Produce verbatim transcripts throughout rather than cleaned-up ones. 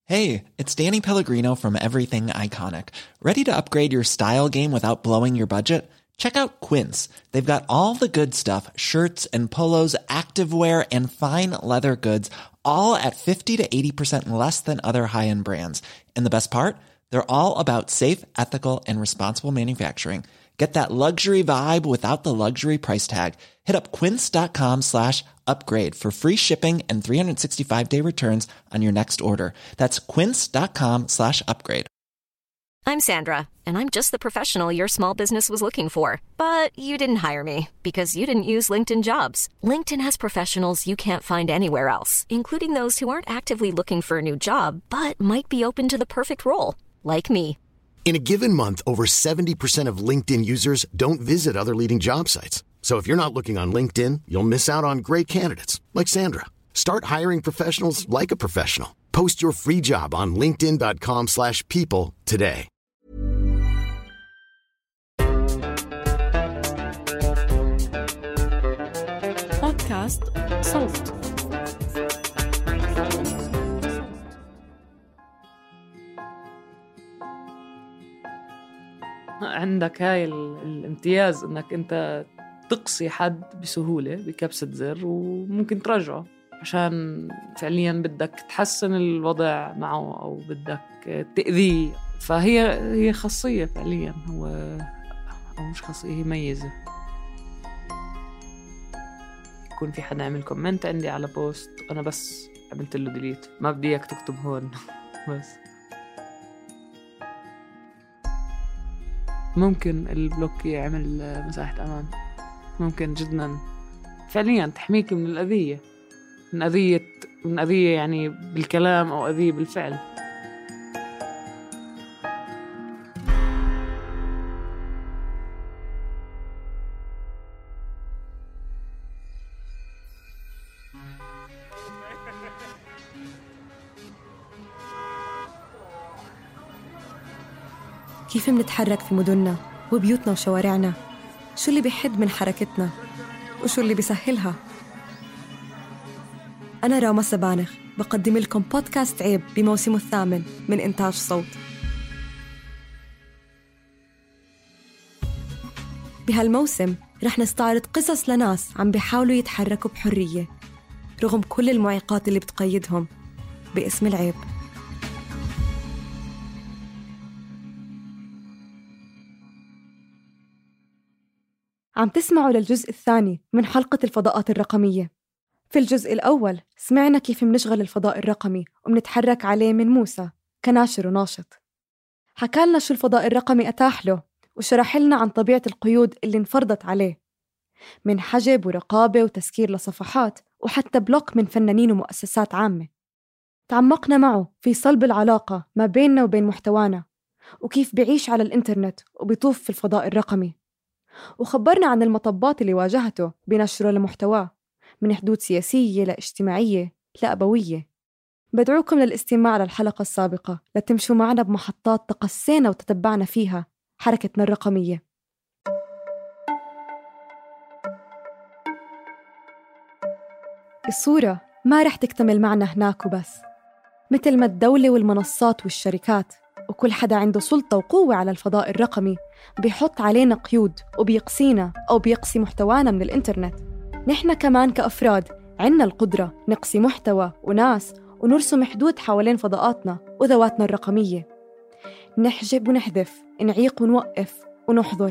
Hey, it's Danny Pellegrino from Everything Iconic. Ready to upgrade your style game without blowing your budget? Check out Quince. They've got all the good stuff, shirts and polos, activewear, and fine leather goods, all at fifty to eighty percent less than other high-end brands. And the best part? They're all about safe, ethical, and responsible manufacturing. Get that luxury vibe without the luxury price tag. Hit up quince.com slash upgrade for free shipping and three sixty-five day returns on your next order. That's quince.com slash upgrade. I'm Sandra, and I'm just the professional your small business was looking for. But you didn't hire me because you didn't use LinkedIn Jobs. LinkedIn has professionals you can't find anywhere else, including those who aren't actively looking for a new job, but might be open to the perfect role, like me. In a given month, over seventy percent of LinkedIn users don't visit other leading job sites. So if you're not looking on LinkedIn, you'll miss out on great candidates like Sandra. Start hiring professionals like a professional. Post your free job on linkedin.com slash people today. بودكاست صوت. عندك هاي الامتياز انك انت تقصي حد بسهولة بكبسة زر وممكن ترجعه عشان فعليا بدك تحسن الوضع معه أو بدك تأذيه. فهي هي خاصية فعليا، هو أو مش خاصية، هي ميزة. يكون في حدا عمل كومنت عندي على بوست أنا بس عملت له ديليت، ما بدي إياك تكتب هون بس. ممكن البلوك يعمل مساحة أمان، ممكن جداً فعلياً تحميك من الأذية، من أذية من أذية يعني بالكلام أو أذية بالفعل. كيف منتحرك في مدننا وبيوتنا وشوارعنا؟ شو اللي بيحد من حركتنا؟ وشو اللي بيسهلها؟ أنا راما سبانخ بقدم لكم بودكاست عيب بموسمه الثامن من إنتاج صوت. بهالموسم رح نستعرض قصص لناس عم بيحاولوا يتحركوا بحرية رغم كل المعيقات اللي بتقيدهم باسم العيب. عم تسمعوا للجزء الثاني من حلقة الفضاءات الرقمية. في الجزء الأول سمعنا كيف منشغل الفضاء الرقمي ومنتحرك عليه من موسى كناشر وناشط. حكالنا شو الفضاء الرقمي أتاح له وشرح لنا عن طبيعة القيود اللي انفرضت عليه من حجب ورقابة وتسكير لصفحات وحتى بلوك من فنانين ومؤسسات عامة. تعمقنا معه في صلب العلاقة ما بيننا وبين محتوانا وكيف بيعيش على الإنترنت وبيطوف في الفضاء الرقمي، وخبرنا عن المطبات اللي واجهته بنشره لمحتواه من حدود سياسية لاجتماعية لأبوية. بدعوكم للاستماع للحلقة السابقة لتمشوا معنا بمحطات تقسينا وتتبعنا فيها حركتنا الرقمية. الصورة ما رح تكتمل معنا هناك وبس، مثل ما الدولة والمنصات والشركات وكل حدا عنده سلطة وقوة على الفضاء الرقمي بيحط علينا قيود وبيقصينا أو بيقصي محتوانا من الإنترنت. نحن كمان كأفراد عنا القدرة نقصي محتوى وناس ونرسم حدود حوالين فضاءاتنا وذواتنا الرقمية، نحجب ونحذف، نعيق ونوقف ونحظر.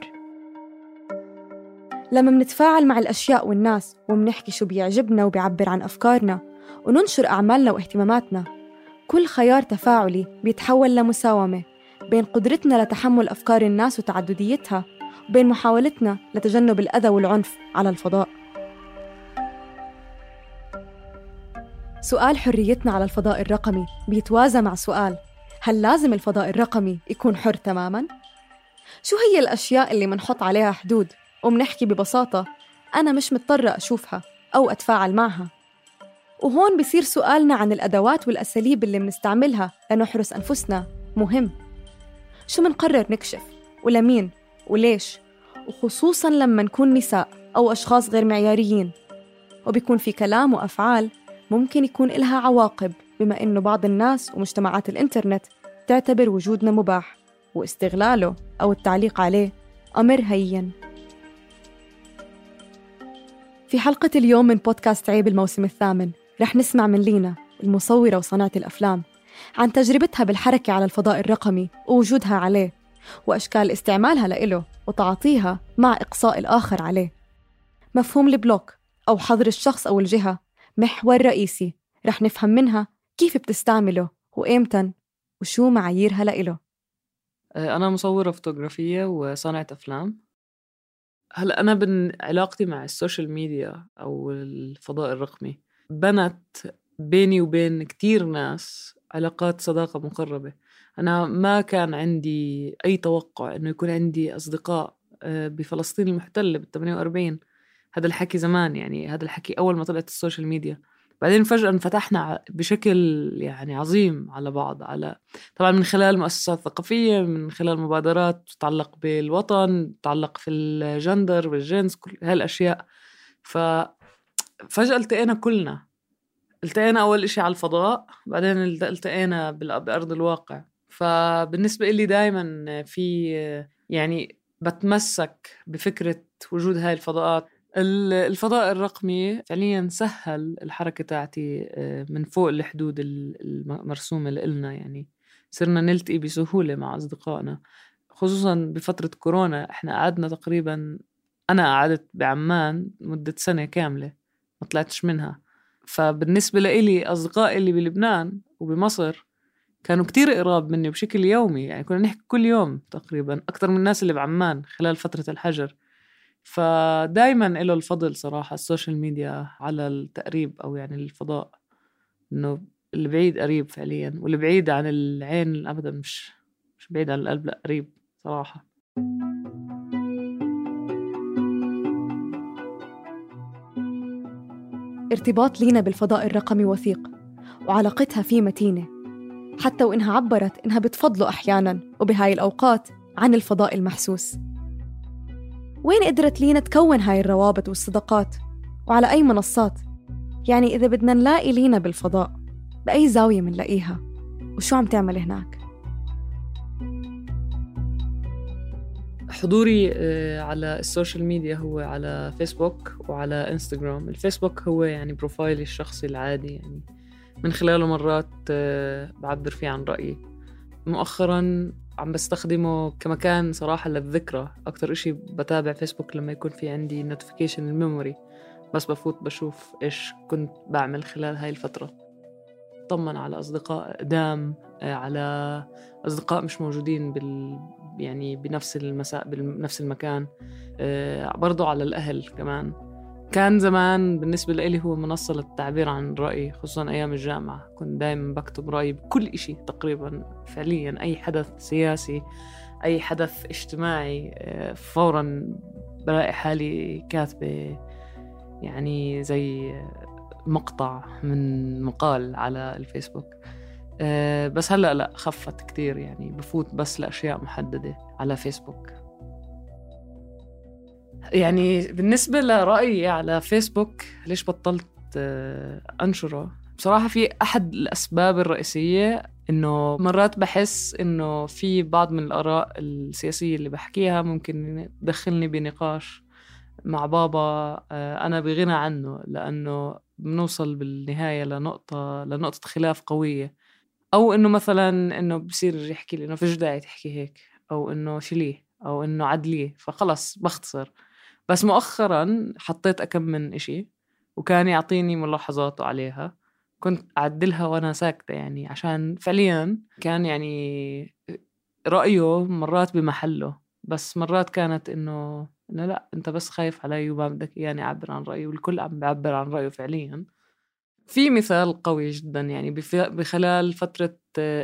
لما منتفاعل مع الأشياء والناس ومنحكي شو بيعجبنا وبيعبر عن أفكارنا وننشر أعمالنا واهتماماتنا، كل خيار تفاعلي بيتحول لمساومة بين قدرتنا لتحمل أفكار الناس وتعدديتها وبين محاولتنا لتجنب الأذى والعنف على الفضاء. سؤال حريتنا على الفضاء الرقمي بيتوازى مع سؤال: هل لازم الفضاء الرقمي يكون حر تماماً؟ شو هي الأشياء اللي منحط عليها حدود ومنحكي ببساطة أنا مش مضطرة أشوفها أو أتفاعل معها؟ وهون بيصير سؤالنا عن الأدوات والأساليب اللي منستعملها لنحرس أنفسنا مهم. شو منقرر نكشف ولمين وليش، وخصوصاً لما نكون نساء أو أشخاص غير معياريين، وبيكون في كلام وأفعال ممكن يكون إلها عواقب بما إنه بعض الناس ومجتمعات الإنترنت تعتبر وجودنا مباح واستغلاله أو التعليق عليه أمر هين. في حلقة اليوم من بودكاست عيب الموسم الثامن رح نسمع من لينا المصورة وصناعة الأفلام عن تجربتها بالحركة على الفضاء الرقمي ووجودها عليه، وأشكال استعمالها لإله وتعاطيها مع إقصاء الآخر عليه. مفهوم البلوك أو حظر الشخص أو الجهة محور رئيسي رح نفهم منها كيف بتستعمله وإمتى وشو معاييرها لإله. أنا مصورة فوتوغرافية وصانعة أفلام. هلأ أنا بعلاقتي مع السوشيال ميديا أو الفضاء الرقمي بنت بيني وبين كتير ناس علاقات صداقة مقربة. أنا ما كان عندي أي توقع إنه يكون عندي أصدقاء بفلسطين المحتلة بالثمانية وأربعين. هذا الحكي زمان، يعني هذا الحكي أول ما طلعت السوشيال ميديا. بعدين فجأة انفتحنا بشكل يعني عظيم على بعض، على طبعا من خلال مؤسسات ثقافية، من خلال مبادرات تتعلق بالوطن، تتعلق في الجندر والجنس، كل هالأشياء. ففجأة التقينا كلنا، التقينا أول إشي على الفضاء، بعدين التقينا بأرض الواقع. فبالنسبة إلي دايما في يعني بتمسك بفكرة وجود هاي الفضاءات. الفضاء الرقمي فعليا سهل الحركة تاعتي من فوق الحدود المرسومة لإلنا، يعني صرنا نلتقي بسهولة مع أصدقائنا، خصوصا بفترة كورونا. إحنا قعدنا تقريبا، أنا قعدت بعمان مدة سنة كاملة ما طلعتش منها. فبالنسبة لإلي أصدقائي اللي بلبنان وبمصر كانوا كتير قراب مني بشكل يومي، يعني كنا نحكي كل يوم تقريبا أكتر من الناس اللي بعمان خلال فترة الحجر. فدايما له الفضل صراحة السوشيال ميديا على التقريب، أو يعني الفضاء، إنه اللي بعيد قريب فعليا، واللي بعيد عن العين أبدا مش مش بعيد عن القلب، لا قريب صراحة. ارتباط لينا بالفضاء الرقمي وثيق، وعلاقتها فيه متينة، حتى وإنها عبرت إنها بتفضله أحياناً وبهاي الأوقات عن الفضاء المحسوس. وين قدرت لينا تكون هاي الروابط والصداقات؟ وعلى أي منصات؟ يعني إذا بدنا نلاقي لينا بالفضاء، بأي زاوية منلاقيها؟ وشو عم تعمل هناك؟ حضوري على السوشيال ميديا هو على فيسبوك وعلى انستغرام. الفيسبوك هو يعني بروفايلي الشخصي العادي، يعني من خلاله مرات بعبر فيه عن رأيي. مؤخراً عم بستخدمه كمكان صراحة للذكرى. أكتر إشي بتابع فيسبوك لما يكون في عندي نوتيفيكيشن الميموري، بس بفوت بشوف إيش كنت بعمل خلال هاي الفترة، طمن على أصدقاء قدام، على أصدقاء مش موجودين بال يعني بنفس المساء بنفس المكان، برضو على الأهل كمان. كان زمان بالنسبة لي هو منصة للتعبير عن رأيي، خصوصا أيام الجامعة كنت دايما بكتب رأيي بكل إشي تقريبا. فعليا أي حدث سياسي، أي حدث اجتماعي، فورا بلاقي حالي كاتبة يعني زي مقطع من مقال على الفيسبوك. بس هلأ لا، خفت كتير، يعني بفوت بس لأشياء محددة على فيسبوك. يعني بالنسبة لرأيي على فيسبوك ليش بطلت أنشره، بصراحة في أحد الأسباب الرئيسية إنه مرات بحس إنه في بعض من الآراء السياسية اللي بحكيها ممكن تدخلني بنقاش مع بابا أنا بغنى عنه، لأنه بنوصل بالنهاية لنقطة لنقطة خلاف قوية، أو إنه مثلا إنه بصير يحكي لي إنه فيش داعي تحكي هيك، أو إنه شليه، أو إنه عدليه، فخلص بختصر. بس مؤخراً حطيت أكم من إشي وكان يعطيني ملاحظاته عليها، كنت أعدلها وأنا ساكتة، يعني عشان فعلياً كان يعني رأيه مرات بمحله، بس مرات كانت إنه إنه لا أنت بس خايف علي وما بدك يعني أعبر عن رأيه، والكل عم بيعبر عن رأيه فعلياً. في مثال قوي جداً، يعني بخلال فترة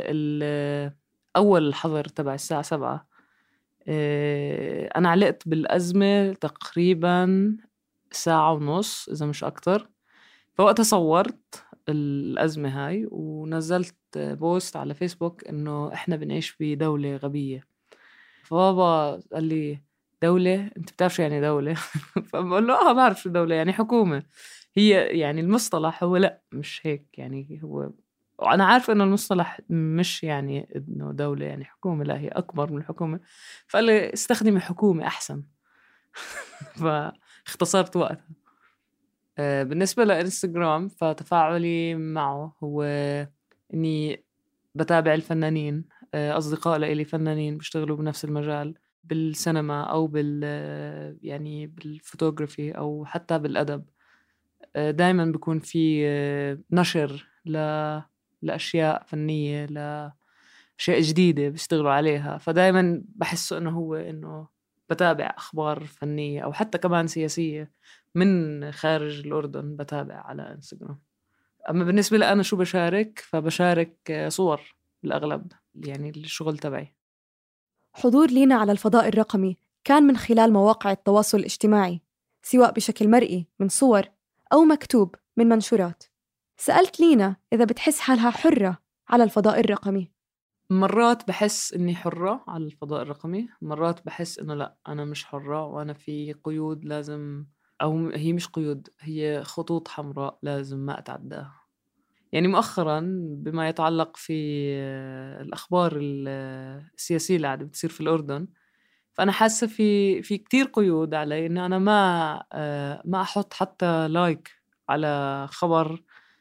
أول الحظر تبع الساعة سبعة أنا علقت بالأزمة تقريباً ساعة ونص إذا مش أكتر. فوقتها صورت الأزمة هاي ونزلت بوست على فيسبوك إنه إحنا بنعيش بدولة غبية. فبابا قال لي دولة؟ أنت بتعرف شو يعني دولة؟ فبقول له آه بعرف شو دولة، يعني حكومة. هي يعني المصطلح هو لأ مش هيك، يعني هو وأنا عارفة إنه المصطلح مش يعني إنه دولة يعني حكومة، لا هي أكبر من الحكومة، فقال لي استخدمي حكومة أحسن. فاختصرت وقتها. بالنسبة لإنستغرام فتفاعلي معه هو إني بتابع الفنانين، أصدقاء لإلي فنانين بيشتغلوا بنفس المجال بالسينما أو بال يعني بالفوتوغرافي أو حتى بالأدب. دايما بيكون في نشر ل... لأشياء فنية، لأشياء جديدة بيشتغلوا عليها، فدايما بحس إنه هو إنه بتابع أخبار فنية أو حتى كمان سياسية من خارج الأردن بتابع على إنستغرام. أما بالنسبة لي أنا شو بشارك، فبشارك صور بالأغلب يعني الشغل تبعي. حضور لينا على الفضاء الرقمي كان من خلال مواقع التواصل الاجتماعي، سواء بشكل مرئي من صور أو مكتوب من منشورات. سألت لينا إذا بتحس حالها حرة على الفضاء الرقمي. مرات بحس إني حرة على الفضاء الرقمي، مرات بحس إنه لا أنا مش حرة وأنا في قيود لازم، أو هي مش قيود، هي خطوط حمراء لازم ما أتعداها. يعني مؤخراً بما يتعلق في الأخبار السياسية اللي قاعدة بتصير في الأردن، فأنا حاسة في في كتير قيود علي إن أنا ما ما أحط حتى لايك على خبر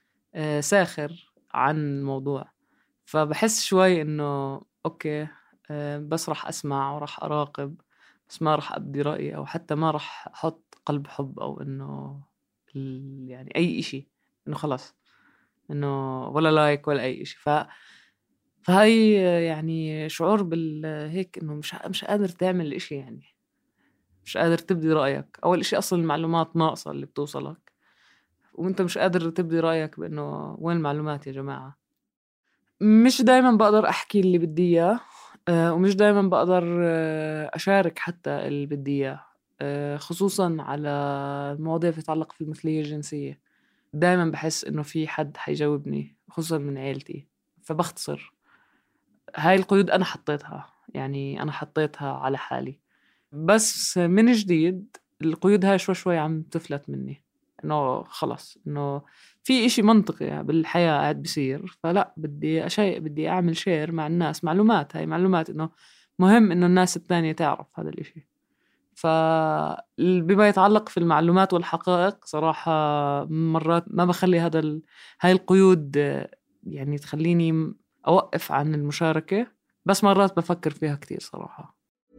ساخر عن الموضوع. فبحس شوي إنه أوكي بس رح أسمع ورح أراقب، بس ما رح أبدي رأيي، أو حتى ما رح أحط قلب حب أو إنه يعني أي إشي، إنه خلاص إنه ولا لايك ولا أي إشي. ف فهاي يعني شعور بالهيك إنه مش مش قادر تعمل إشي، يعني مش قادر تبدي رأيك. أول إشي أصل المعلومات ناقصة اللي بتوصلك، وأنت مش قادر تبدي رأيك بإنه وين المعلومات يا جماعة. مش دايما بقدر أحكي اللي بدي إياه، ومش دايما بقدر أشارك حتى اللي بدي إياه، خصوصا على المواضيع تتعلق في المثلية الجنسية. دايما بحس إنه في حد حيجاوبني خصوصا من عيلتي، فبختصر. هاي القيود أنا حطيتها، يعني أنا حطيتها على حالي، بس من جديد القيود هاي شوي شوي عم تفلت مني، إنه خلص إنه في إشي منطقي بالحياة قاعد بيصير، فلا بدي أشيء بدي أعمل شير مع الناس معلومات، هاي معلومات إنه مهم إنه الناس التانية تعرف هذا الإشي. فبما يتعلق في المعلومات والحقائق صراحة مرات ما بخلي هذا ال... هاي القيود يعني تخليني أوقف عن المشاركة، بس مرات بفكر فيها كتير صراحة.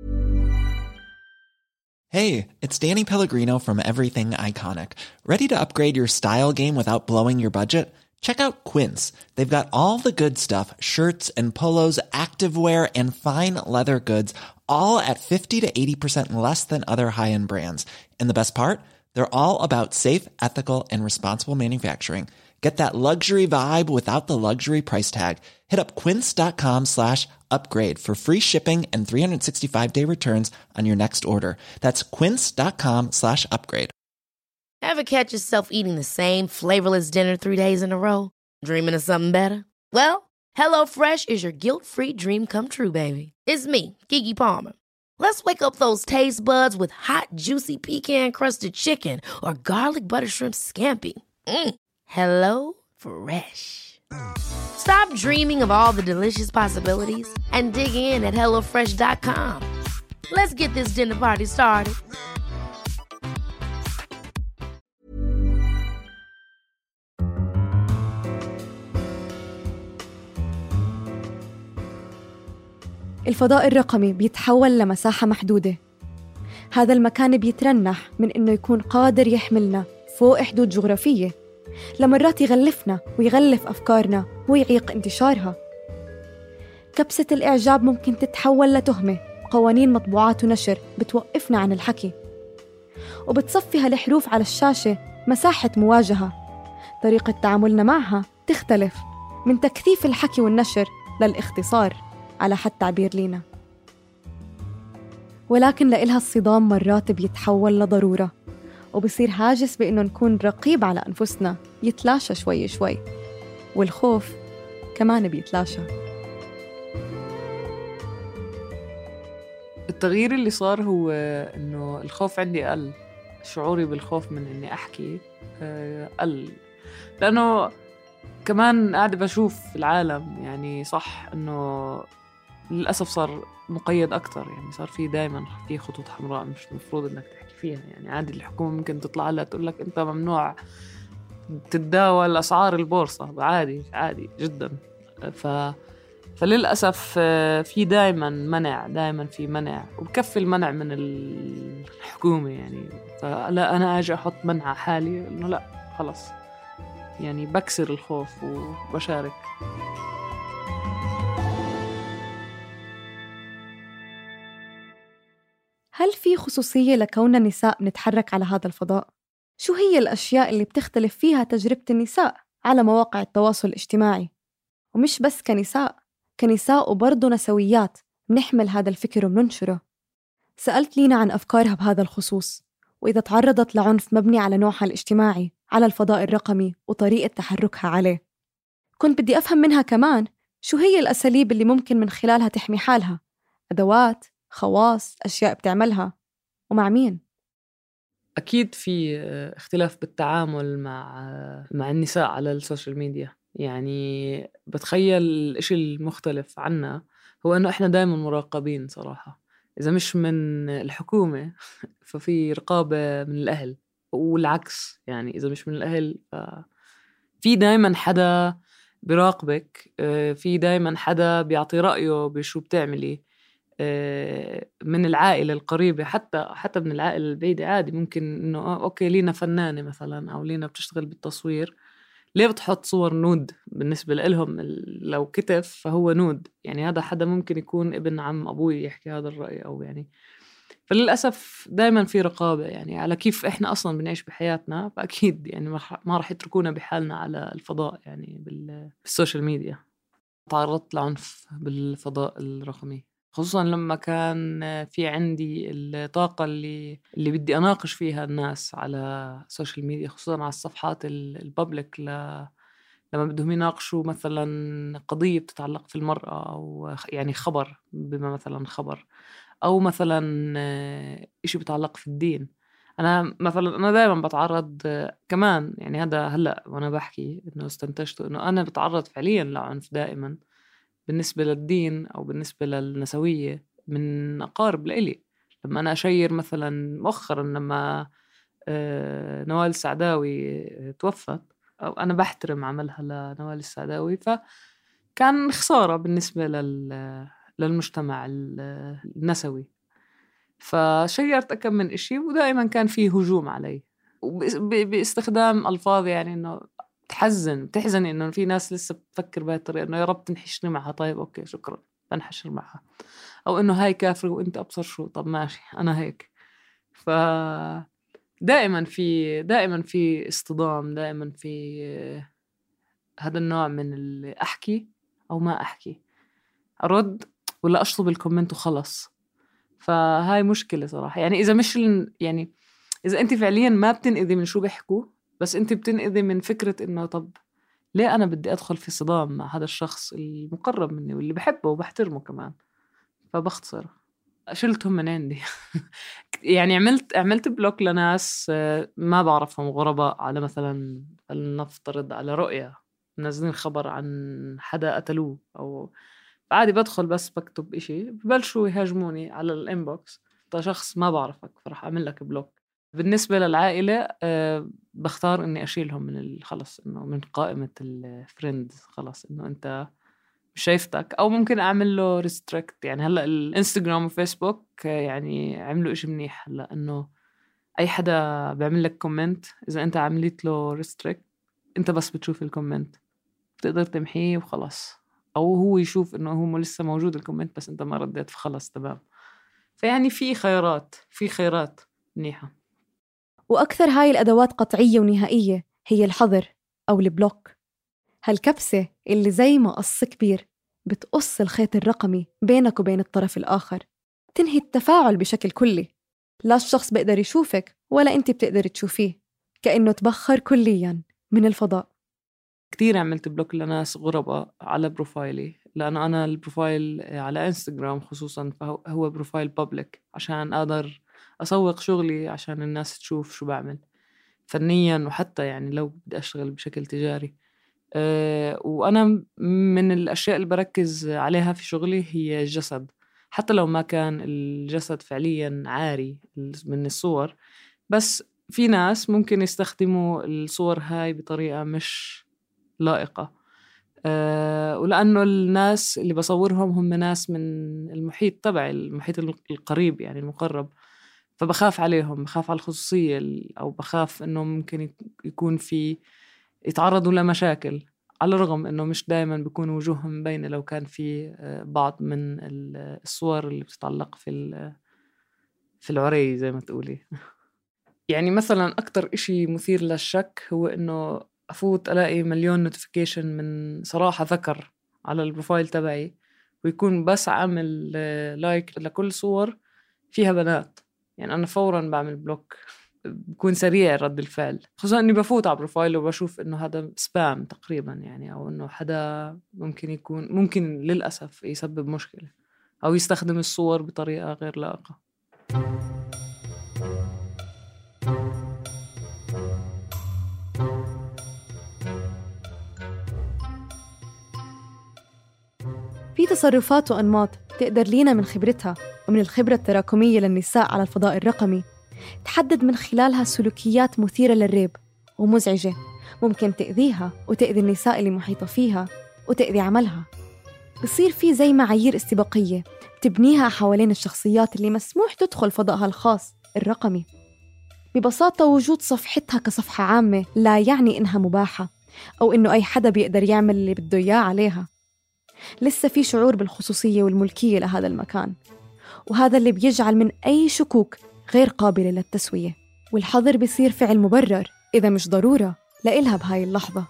Hey, it's Danny Pellegrino from Everything Iconic. Ready to upgrade your style game without blowing your budget? Check out Quince. They've got all the good stuff, shirts and polos, activewear, and fine leather goods, all at fifty to eighty percent less than other high-end brands. And the best part? They're all about safe, ethical, and responsible manufacturing. Get that luxury vibe without the luxury price tag. Hit up quince.com slash upgrade for free shipping and three sixty-five day returns on your next order. That's quince.com slash upgrade. Ever catch yourself eating the same flavorless dinner three days in a row? Dreaming of something better? Well, HelloFresh is your guilt-free dream come true, baby. It's me, Keke Palmer. Let's wake up those taste buds with hot, juicy pecan-crusted chicken or garlic butter shrimp scampi. Mm. Hello Fresh. Stop dreaming of all the delicious possibilities and dig in at hello fresh dot com. Let's get this dinner party started. الفضاء الرقمي بيتحول لمساحة محدودة. هذا المكان بيترنح من إنه يكون قادر يحملنا فوق حدود جغرافية، لمرات يغلفنا ويغلف أفكارنا ويعيق انتشارها. كبسة الإعجاب ممكن تتحول لتهمة، قوانين مطبوعات ونشر بتوقفنا عن الحكي، وبتصفي هالحروف على الشاشة مساحة مواجهة. طريقة تعاملنا معها تختلف من تكثيف الحكي والنشر للاختصار على حد تعبير لينا. ولكن لإلها الصدام مرات بيتحول لضرورة، وبصير هاجس بإنه نكون رقيب على أنفسنا يتلاشى شوي شوي، والخوف كمان بيتلاشى. التغيير اللي صار هو إنه الخوف عندي قل، شعوري بالخوف من إني أحكي قل، لأنه كمان قاعدة بشوف العالم يعني صح إنه للأسف صار مقيد أكتر، يعني صار في دايما في خطوط حمراء مش مفروض إنك تحكي فيها. يعني عادي الحكومة ممكن تطلع لها تقول لك أنت ممنوع تتداول أسعار البورصة، عادي عادي جدا. ف فللأسف في دايما منع، دايما في منع، وبكفي المنع من الحكومة يعني. فلا أنا أجي أحط منع حالي إنه لا خلص، يعني بكسر الخوف وبشارك. هل في خصوصية لكوننا نساء نتحرك على هذا الفضاء؟ شو هي الأشياء اللي بتختلف فيها تجربة النساء على مواقع التواصل الاجتماعي؟ ومش بس كنساء، كنساء وبرضو نسويات بنحمل هذا الفكر وبننشره. سألت لينا عن أفكارها بهذا الخصوص، وإذا تعرضت لعنف مبني على نوعها الاجتماعي على الفضاء الرقمي وطريقة تحركها عليه. كنت بدي أفهم منها كمان شو هي الأساليب اللي ممكن من خلالها تحمي حالها، أدوات، خواص، أشياء بتعملها، ومع مين. أكيد في اختلاف بالتعامل مع مع النساء على السوشيال ميديا. يعني بتخيل الإشي المختلف عنا هو أنه إحنا دائما مراقبين صراحة، إذا مش من الحكومة ففي رقابة من الأهل، والعكس يعني إذا مش من الأهل ففي دائما حدا بيراقبك، في دائما حدا بيعطي رأيه بشو بتعملي من العائلة القريبة، حتى حتى من العائلة البعيدة. عادي ممكن إنه أوكي لينا فنانة مثلا أو لينا بتشتغل بالتصوير، ليه بتحط صور نود؟ بالنسبة لهم لو كتف فهو نود، يعني هذا حدا ممكن يكون ابن عم أبوي يحكي هذا الرأي أو يعني. فللأسف دايما في رقابة يعني على كيف إحنا أصلا بنعيش بحياتنا، فأكيد يعني ما راح يتركونا بحالنا على الفضاء يعني بالسوشيال ميديا. تعرضت لعنف بالفضاء الرقمي، خصوصا لما كان في عندي الطاقة اللي اللي بدي أناقش فيها الناس على السوشيال ميديا، خصوصا على الصفحات البابليك ل... لما بدهم يناقشوا مثلا قضية بتتعلق في المرأة أو يعني خبر، بما مثلا خبر أو مثلا إشي بتعلق في الدين. أنا مثلا أنا دائما بتعرض كمان، يعني هذا هلأ وأنا بحكي إنه استنتجته إنه أنا بتعرض فعليا لعنف دائما بالنسبة للدين أو بالنسبة للنسوية من أقارب لإلي. لما أنا أشير مثلا مؤخرا لما نوال السعداوي توفت، أو أنا بحترم عملها لنوال السعداوي، فكان خسارة بالنسبة للمجتمع النسوي. فشيرت أكم من إشي ودائما كان فيه هجوم علي باستخدام ألفاظ يعني إنه تحزن تحزني إنه في ناس لسه بتفكر بهاي الطريقة، إنه يا رب تنحشني معها. طيب أوكي شكرا، بنحشر معها. أو إنه هاي كافر وإنت أبصر شو، طب ماشي أنا هيك. ف دائما في دائما في اصطدام، دائما في هذا النوع من اللي أحكي أو ما أحكي، أرد ولا أشطب الكومنت وخلص. فهاي مشكلة صراحة. يعني إذا مش يعني إذا أنت فعليا ما بتنقذي من شو بيحكوا، بس أنت بتنقذي من فكرة إنه طب ليه أنا بدي أدخل في صدام مع هذا الشخص المقرب مني واللي بحبه وبحترمه كمان، فبختصر شلتهم من عندي. يعني عملت عملت بلوك لناس ما بعرفهم، غرباء، على مثلا نفترض على رؤية منزلين خبر عن حدا قتلوه، أو عادي بدخل بس بكتب إشي ببلشوا يهاجموني على الانبوكس، ده شخص ما بعرفك فرح أعمل لك بلوك. بالنسبة للعائلة أه بختار إني أشيلهم من خلص، إنه من قائمة الفريندز، خلص إنه أنت مش شايفتك، أو ممكن أعمل له ريستريكت. يعني هلأ الانستغرام وفيسبوك يعني عملوا إشي منيح هلأ، إنه أي حدا بيعمل لك كومنت إذا أنت عملت له ريستريكت أنت بس بتشوف الكومنت، بتقدر تمحيه وخلاص، أو هو يشوف إنه هو لسه موجود الكومنت بس أنت ما رديت فخلص تمام. فيعني في خيارات في خيارات منيحة. وأكثر هاي الأدوات قطعية ونهائية هي الحظر أو البلوك، هالكبسة اللي زي ما قص كبير بتقص الخيط الرقمي بينك وبين الطرف الآخر، تنهي التفاعل بشكل كلي. لا الشخص بيقدر يشوفك ولا أنت بتقدر تشوفيه، كأنه تبخر كلياً من الفضاء. كتير عملت بلوك لناس غرباء على بروفايلي، لأنه أنا البروفايل على إنستغرام خصوصاً فهو بروفايل بابليك عشان أقدر أسوق شغلي، عشان الناس تشوف شو بعمل فنياً، وحتى يعني لو بدي أشتغل بشكل تجاري. أه وأنا من الأشياء اللي بركز عليها في شغلي هي الجسد، حتى لو ما كان الجسد فعليا عاري من الصور، بس في ناس ممكن يستخدموا الصور هاي بطريقة مش لائقة. أه ولأنه الناس اللي بصورهم هم ناس من المحيط تبعي، المحيط القريب يعني المقرب، فبخاف عليهم، بخاف على الخصوصية، أو بخاف إنه ممكن يكون في يتعرضوا لمشاكل، على الرغم إنه مش دائما بيكون وجوههم مبينة لو كان في بعض من الصور اللي بتتعلق في في العري زي ما تقولي. يعني مثلا أكتر إشي مثير للشك هو إنه أفوت ألاقي مليون نوتيفيكيشن من صراحة ذكر على البروفايل تبعي، ويكون بس عامل لايك لكل صور فيها بنات. يعني أنا فوراً بعمل بلوك، بكون سريع رد الفعل، خصوصاً إني بفوت على بروفايل وبشوف إنه هذا سبام تقريباً، يعني أو إنه حدا ممكن يكون ممكن للأسف يسبب مشكلة أو يستخدم الصور بطريقة غير لائقة. في تصرفات وأنماط تقدر لينا من خبرتها ومن الخبرة التراكمية للنساء على الفضاء الرقمي تحدد من خلالها سلوكيات مثيرة للريب ومزعجة، ممكن تأذيها وتأذي النساء اللي محيطة فيها وتأذي عملها. بصير في زي معايير استباقية تبنيها حوالين الشخصيات اللي مسموح تدخل فضائها الخاص الرقمي. ببساطة وجود صفحتها كصفحة عامة لا يعني إنها مباحة أو إنه أي حدا بيقدر يعمل اللي بده إياه عليها. لسه في شعور بالخصوصية والملكية لهذا المكان، وهذا اللي بيجعل من أي شكوك غير قابلة للتسوية، والحظر بيصير فعل مبرر إذا مش ضرورة لإلها بهاي اللحظة.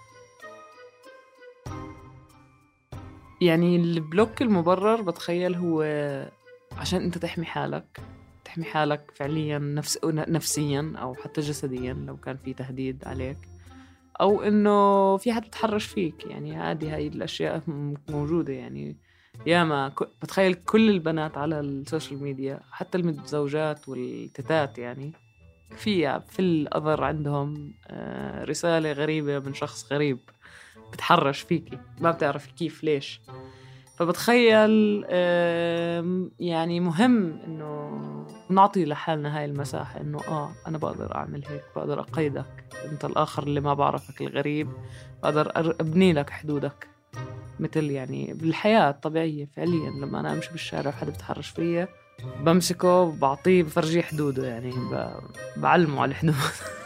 يعني البلوك المبرر بتخيل هو عشان أنت تحمي حالك، تحمي حالك فعليا نفس... نفسيا أو حتى جسديا لو كان في تهديد عليك، أو إنه في حد تحرش فيك. يعني هذه هاي الأشياء موجودة. يعني ياما ك... بتخيل كل البنات على السوشيال ميديا حتى المتزوجات والتتات، يعني في في الأذر عندهم رسالة غريبة من شخص غريب بتحرش فيكي، ما بتعرف كيف ليش. فبتخيل يعني مهم إنه نعطي لحالنا هاي المساحة، إنه آه أنا بقدر أعمل هيك، بقدر أقيدك أنت الآخر اللي ما بعرفك الغريب، بقدر أبني لك حدودك. مثل يعني بالحياة الطبيعية فعليا لما أنا أمشي بالشارع وحدا بتحرش فيا بمسكه بعطيه بفرجيه حدوده، يعني بعلمه على الحدود.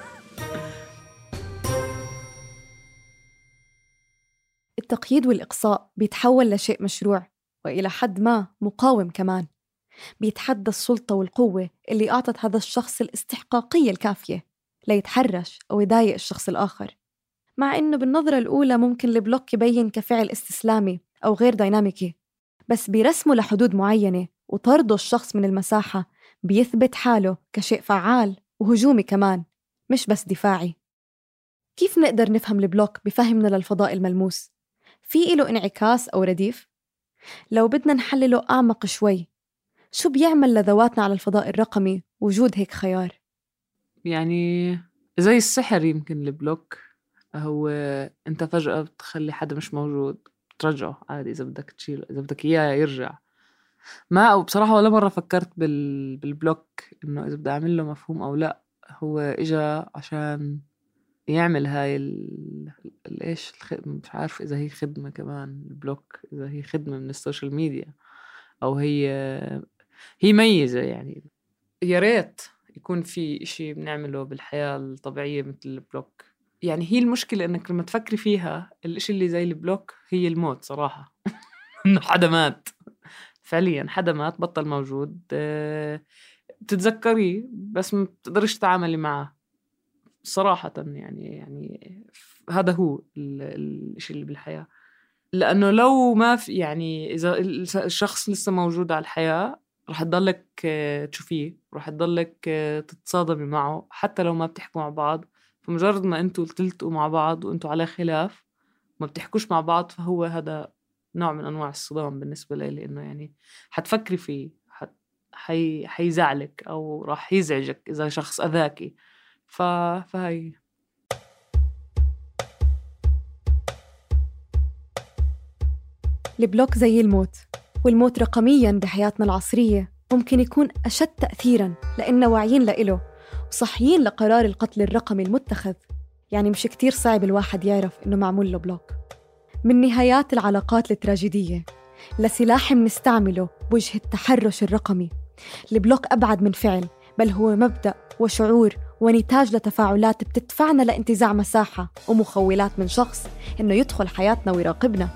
التقييد والإقصاء بيتحول لشيء مشروع وإلى حد ما مقاوم كمان، بيتحدى السلطة والقوة اللي أعطت هذا الشخص الاستحقاقية الكافية ليتحرش أو يضايق الشخص الآخر. مع إنه بالنظرة الأولى ممكن البلوك يبين كفعل استسلامي أو غير ديناميكي، بس بيرسمه لحدود معينة، وطرده الشخص من المساحة بيثبت حاله كشيء فعال وهجومي كمان، مش بس دفاعي. كيف نقدر نفهم البلوك بفهمنا للفضاء الملموس؟ في له انعكاس أو رديف؟ لو بدنا نحلله أعمق شوي، شو بيعمل لذواتنا على الفضاء الرقمي وجود هيك خيار؟ يعني زي السحر يمكن البلوك، هو أنت فجأة بتخلي حدا مش موجود ترجعه عادي إذا بدك تشيله، إذا بدك إياه يرجع. ما أو بصراحة ولا مرة فكرت بال... بالبلوك إنه إذا بدي أعمل له مفهوم أو لا. هو إجا عشان يعمل هاي ال... الإيش الخدمة، مش عارف إذا هي خدمة كمان البلوك، إذا هي خدمة من السوشيال ميديا أو هي هي ميزة. يعني يا ريت يكون في إشي بنعمله بالحياة الطبيعية مثل البلوك. يعني هي المشكلة إنك لما تفكري فيها الإشي اللي زي البلوك هي الموت صراحة. إنه حدا مات فعليا، حدا مات بطل موجود، بتتذكريه بس ما بتقدرش تتعاملي معه صراحة. يعني يعني هذا هو الشيء اللي بالحياة. لأنه لو ما في، يعني إذا الشخص لسه موجود على الحياة رح تضلك تشوفيه، رح تضلك تتصادمي معه حتى لو ما بتحكوا مع بعض. فمجرد ما أنتوا تلتقوا مع بعض وأنتوا على خلاف ما بتحكوش مع بعض، فهو هذا نوع من أنواع الصدام بالنسبة لي، لأنه يعني حتفكري فيه، حت حي حيزعلك أو راح يزعجك إذا شخص أذاكي. ف... فهي البلوك زي الموت، والموت رقمياً بحياتنا العصرية ممكن يكون أشد تأثيراً لأننا واعيين لإله وصحيين لقرار القتل الرقمي المتخذ. يعني مش كتير صعب الواحد يعرف إنه معمول له بلوك. من نهايات العلاقات التراجيدية لسلاح منستعمله بوجه التحرش الرقمي، البلوك أبعد من فعل، بل هو مبدأ وشعور ونتاج لتفاعلات بتدفعنا لانتزاع مساحة ومخولات من شخص إنه يدخل حياتنا ويراقبنا.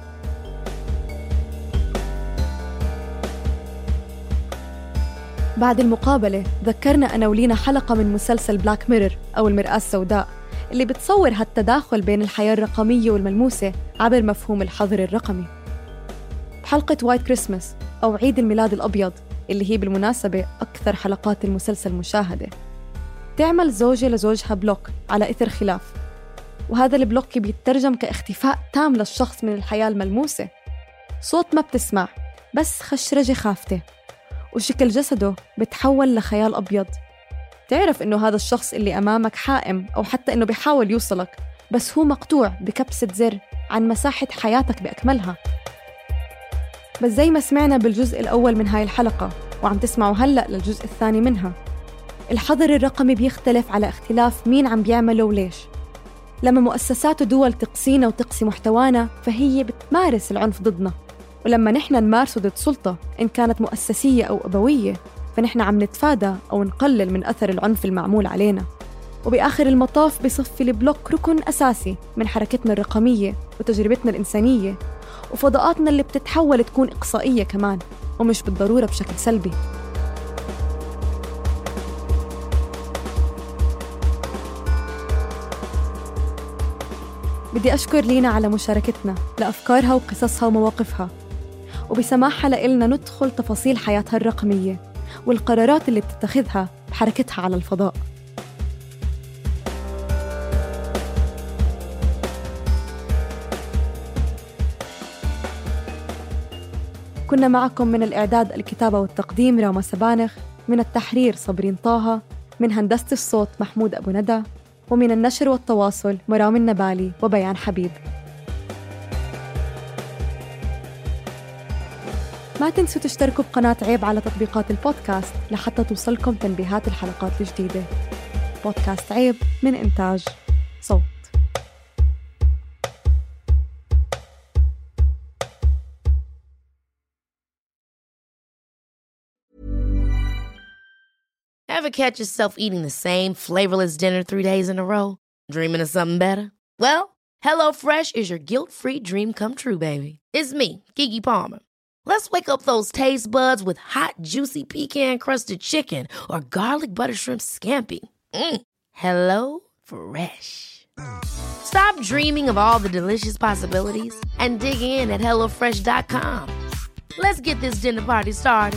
بعد المقابلة ذكرنا أنا ولينا حلقة من مسلسل بلاك ميرور أو المرآة السوداء اللي بتصور هالتداخل بين الحياة الرقمية والملموسة عبر مفهوم الحظر الرقمي. بحلقة وايت كريسماس أو عيد الميلاد الأبيض اللي هي بالمناسبة أكثر حلقات المسلسل مشاهدة، تعمل زوجة لزوجها بلوك على إثر خلاف، وهذا البلوك بيترجم كاختفاء تام للشخص من الحياة الملموسة. صوت ما بتسمع، بس خشرجة خافتة، وشكل جسده بتحول لخيال أبيض. تعرف إنه هذا الشخص اللي أمامك حائم أو حتى إنه بيحاول يوصلك، بس هو مقطوع بكبسة زر عن مساحة حياتك بأكملها. بس زي ما سمعنا بالجزء الأول من هاي الحلقة وعم تسمعوا هلأ للجزء الثاني منها، الحظر الرقمي بيختلف على اختلاف مين عم بيعمله وليش. لما مؤسسات ودول تقصينا وتقصي محتوانا فهي بتمارس العنف ضدنا، ولما نحن نمارسه ضد سلطة إن كانت مؤسسية أو أبوية فنحن عم نتفادى أو نقلل من أثر العنف المعمول علينا. وبآخر المطاف بصفي البلوك ركن أساسي من حركتنا الرقمية وتجربتنا الإنسانية وفضاءاتنا اللي بتتحول تكون إقصائية كمان، ومش بالضرورة بشكل سلبي. بدي أشكر لينا على مشاركتنا لأفكارها وقصصها ومواقفها، وبسماحها لإلنا ندخل تفاصيل حياتها الرقمية والقرارات اللي بتتخذها بحركتها على الفضاء. كنا معكم من الإعداد، الكتابة والتقديم راما سبانخ، من التحرير صبرين طه، من هندسة الصوت محمود أبو ندى، ومن النشر والتواصل مرام النبالي وبيان حبيب. ما تنسوا تشتركوا بقناة عيب على تطبيقات البودكاست لحتى توصلكم تنبيهات الحلقات الجديدة. بودكاست عيب من إنتاج صوت. Ever catch yourself eating the same flavorless dinner three days in a row? Dreaming of something better? Well, HelloFresh is your guilt-free dream come true, baby. It's me, Keke Palmer. Let's wake up those taste buds with hot, juicy pecan-crusted chicken or garlic butter shrimp scampi. Mm. Hello Fresh. Stop dreaming of all the delicious possibilities and dig in at hello fresh dot com. Let's get this dinner party started.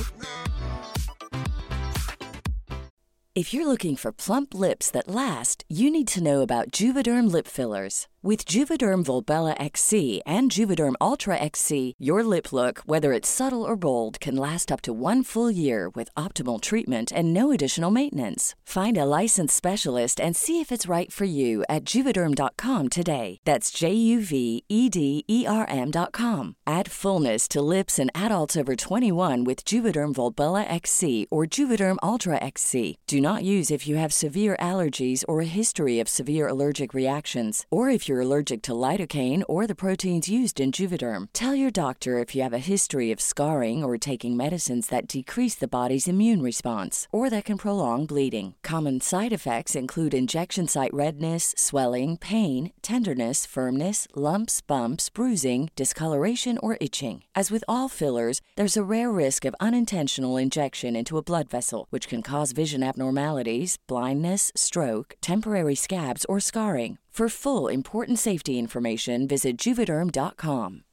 If you're looking for plump lips that last, you need to know about Juvederm lip fillers. With Juvederm Volbella X C and Juvederm Ultra X C, your lip look, whether it's subtle or bold, can last up to one full year with optimal treatment and no additional maintenance. Find a licensed specialist and see if it's right for you at Juvederm dot com today. That's J U V E D E R M dot com. Add fullness to lips in adults over twenty-one with Juvederm Volbella X C or Juvederm Ultra X C. Do not use if you have severe allergies or a history of severe allergic reactions, or if you're allergic to lidocaine or the proteins used in Juvederm. Tell your doctor if you have a history of scarring or taking medicines that decrease the body's immune response or that can prolong bleeding. Common side effects include injection site redness, swelling, pain, tenderness, firmness, lumps, bumps, bruising, discoloration, or itching. As with all fillers, there's a rare risk of unintentional injection into a blood vessel, which can cause vision abnormalities, blindness, stroke, temporary scabs, or scarring. For full important safety information, visit Juvederm dot com.